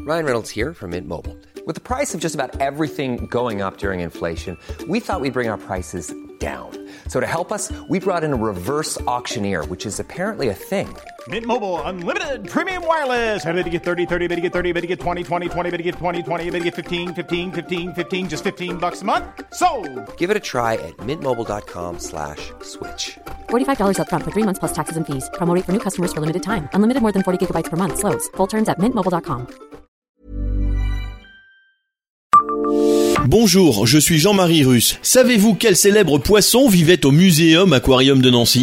Ryan Reynolds here from Mint Mobile. With the price of just about everything going up during inflation, we thought we'd bring our prices down. So to help us, we brought in a reverse auctioneer, which is apparently a thing. Mint Mobile Unlimited Premium Wireless. How to get 30, 30, bit to get 30, bit to get 20, 20, 20, bit to get 20, 20, bit to get 15, 15, 15, 15, just $15 a month? Sold! Give it a try at mintmobile.com/switch. $45 up front for 3 months plus taxes and fees. Promo rate for new customers for limited time. Unlimited more than 40 gigabytes per month. Slows full terms at mintmobile.com. Bonjour, je suis Jean-Marie Russe. Savez-vous quel célèbre poisson vivait au Muséum Aquarium de Nancy ?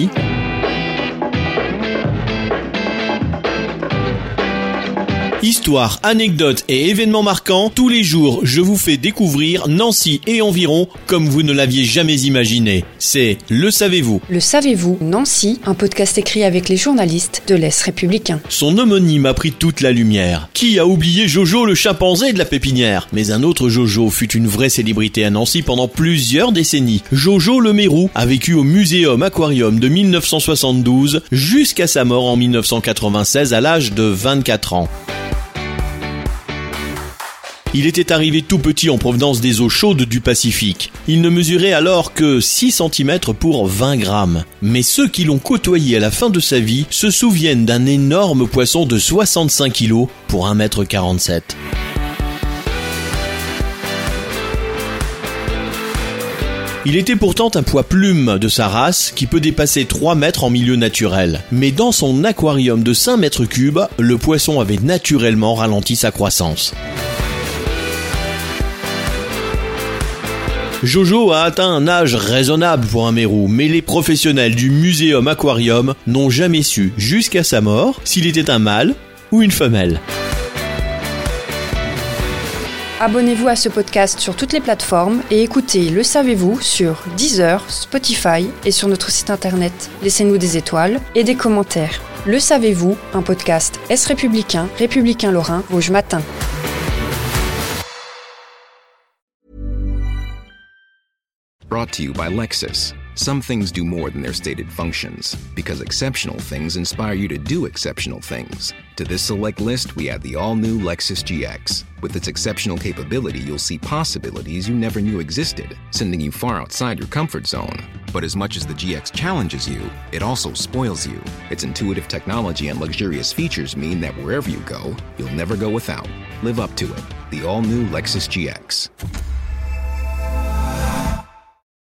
Histoire, anecdotes et événements marquants, tous les jours je vous fais découvrir Nancy et environ comme vous ne l'aviez jamais imaginé. C'est Le Savez-vous. Le Savez-vous, Nancy, un podcast écrit avec les journalistes de l'Est républicain. Son homonyme a pris toute la lumière. Qui a oublié Jojo le chimpanzé de la pépinière ? Mais un autre Jojo fut une vraie célébrité à Nancy pendant plusieurs décennies. Jojo le Mérou a vécu au Muséum Aquarium de 1972 jusqu'à sa mort en 1996 à l'âge de 24 ans. Il était arrivé tout petit en provenance des eaux chaudes du Pacifique. Il ne mesurait alors que 6 cm pour 20 grammes. Mais ceux qui l'ont côtoyé à la fin de sa vie se souviennent d'un énorme poisson de 65 kg pour 1,47 m. Il était pourtant un poids plume de sa race qui peut dépasser 3 mètres en milieu naturel. Mais dans son aquarium de 5 mètres cubes, le poisson avait naturellement ralenti sa croissance. Jojo a atteint un âge raisonnable pour un mérou, mais les professionnels du Muséum Aquarium n'ont jamais su, jusqu'à sa mort, s'il était un mâle ou une femelle. Abonnez-vous à ce podcast sur toutes les plateformes et écoutez Le Savez-vous sur Deezer, Spotify et sur notre site internet. Laissez-nous des étoiles et des commentaires. Le Savez-vous, un podcast Est républicain, républicain lorrain, Rouge Matin. Brought to you by Lexus. Some things do more than their stated functions, because exceptional things inspire you to do exceptional things. To this select list, we add the all-new Lexus GX. With its exceptional capability, you'll see possibilities you never knew existed, sending you far outside your comfort zone. But as much as the GX challenges you, it also spoils you. Its intuitive technology and luxurious features mean that wherever you go, you'll never go without. Live up to it. The all-new Lexus GX.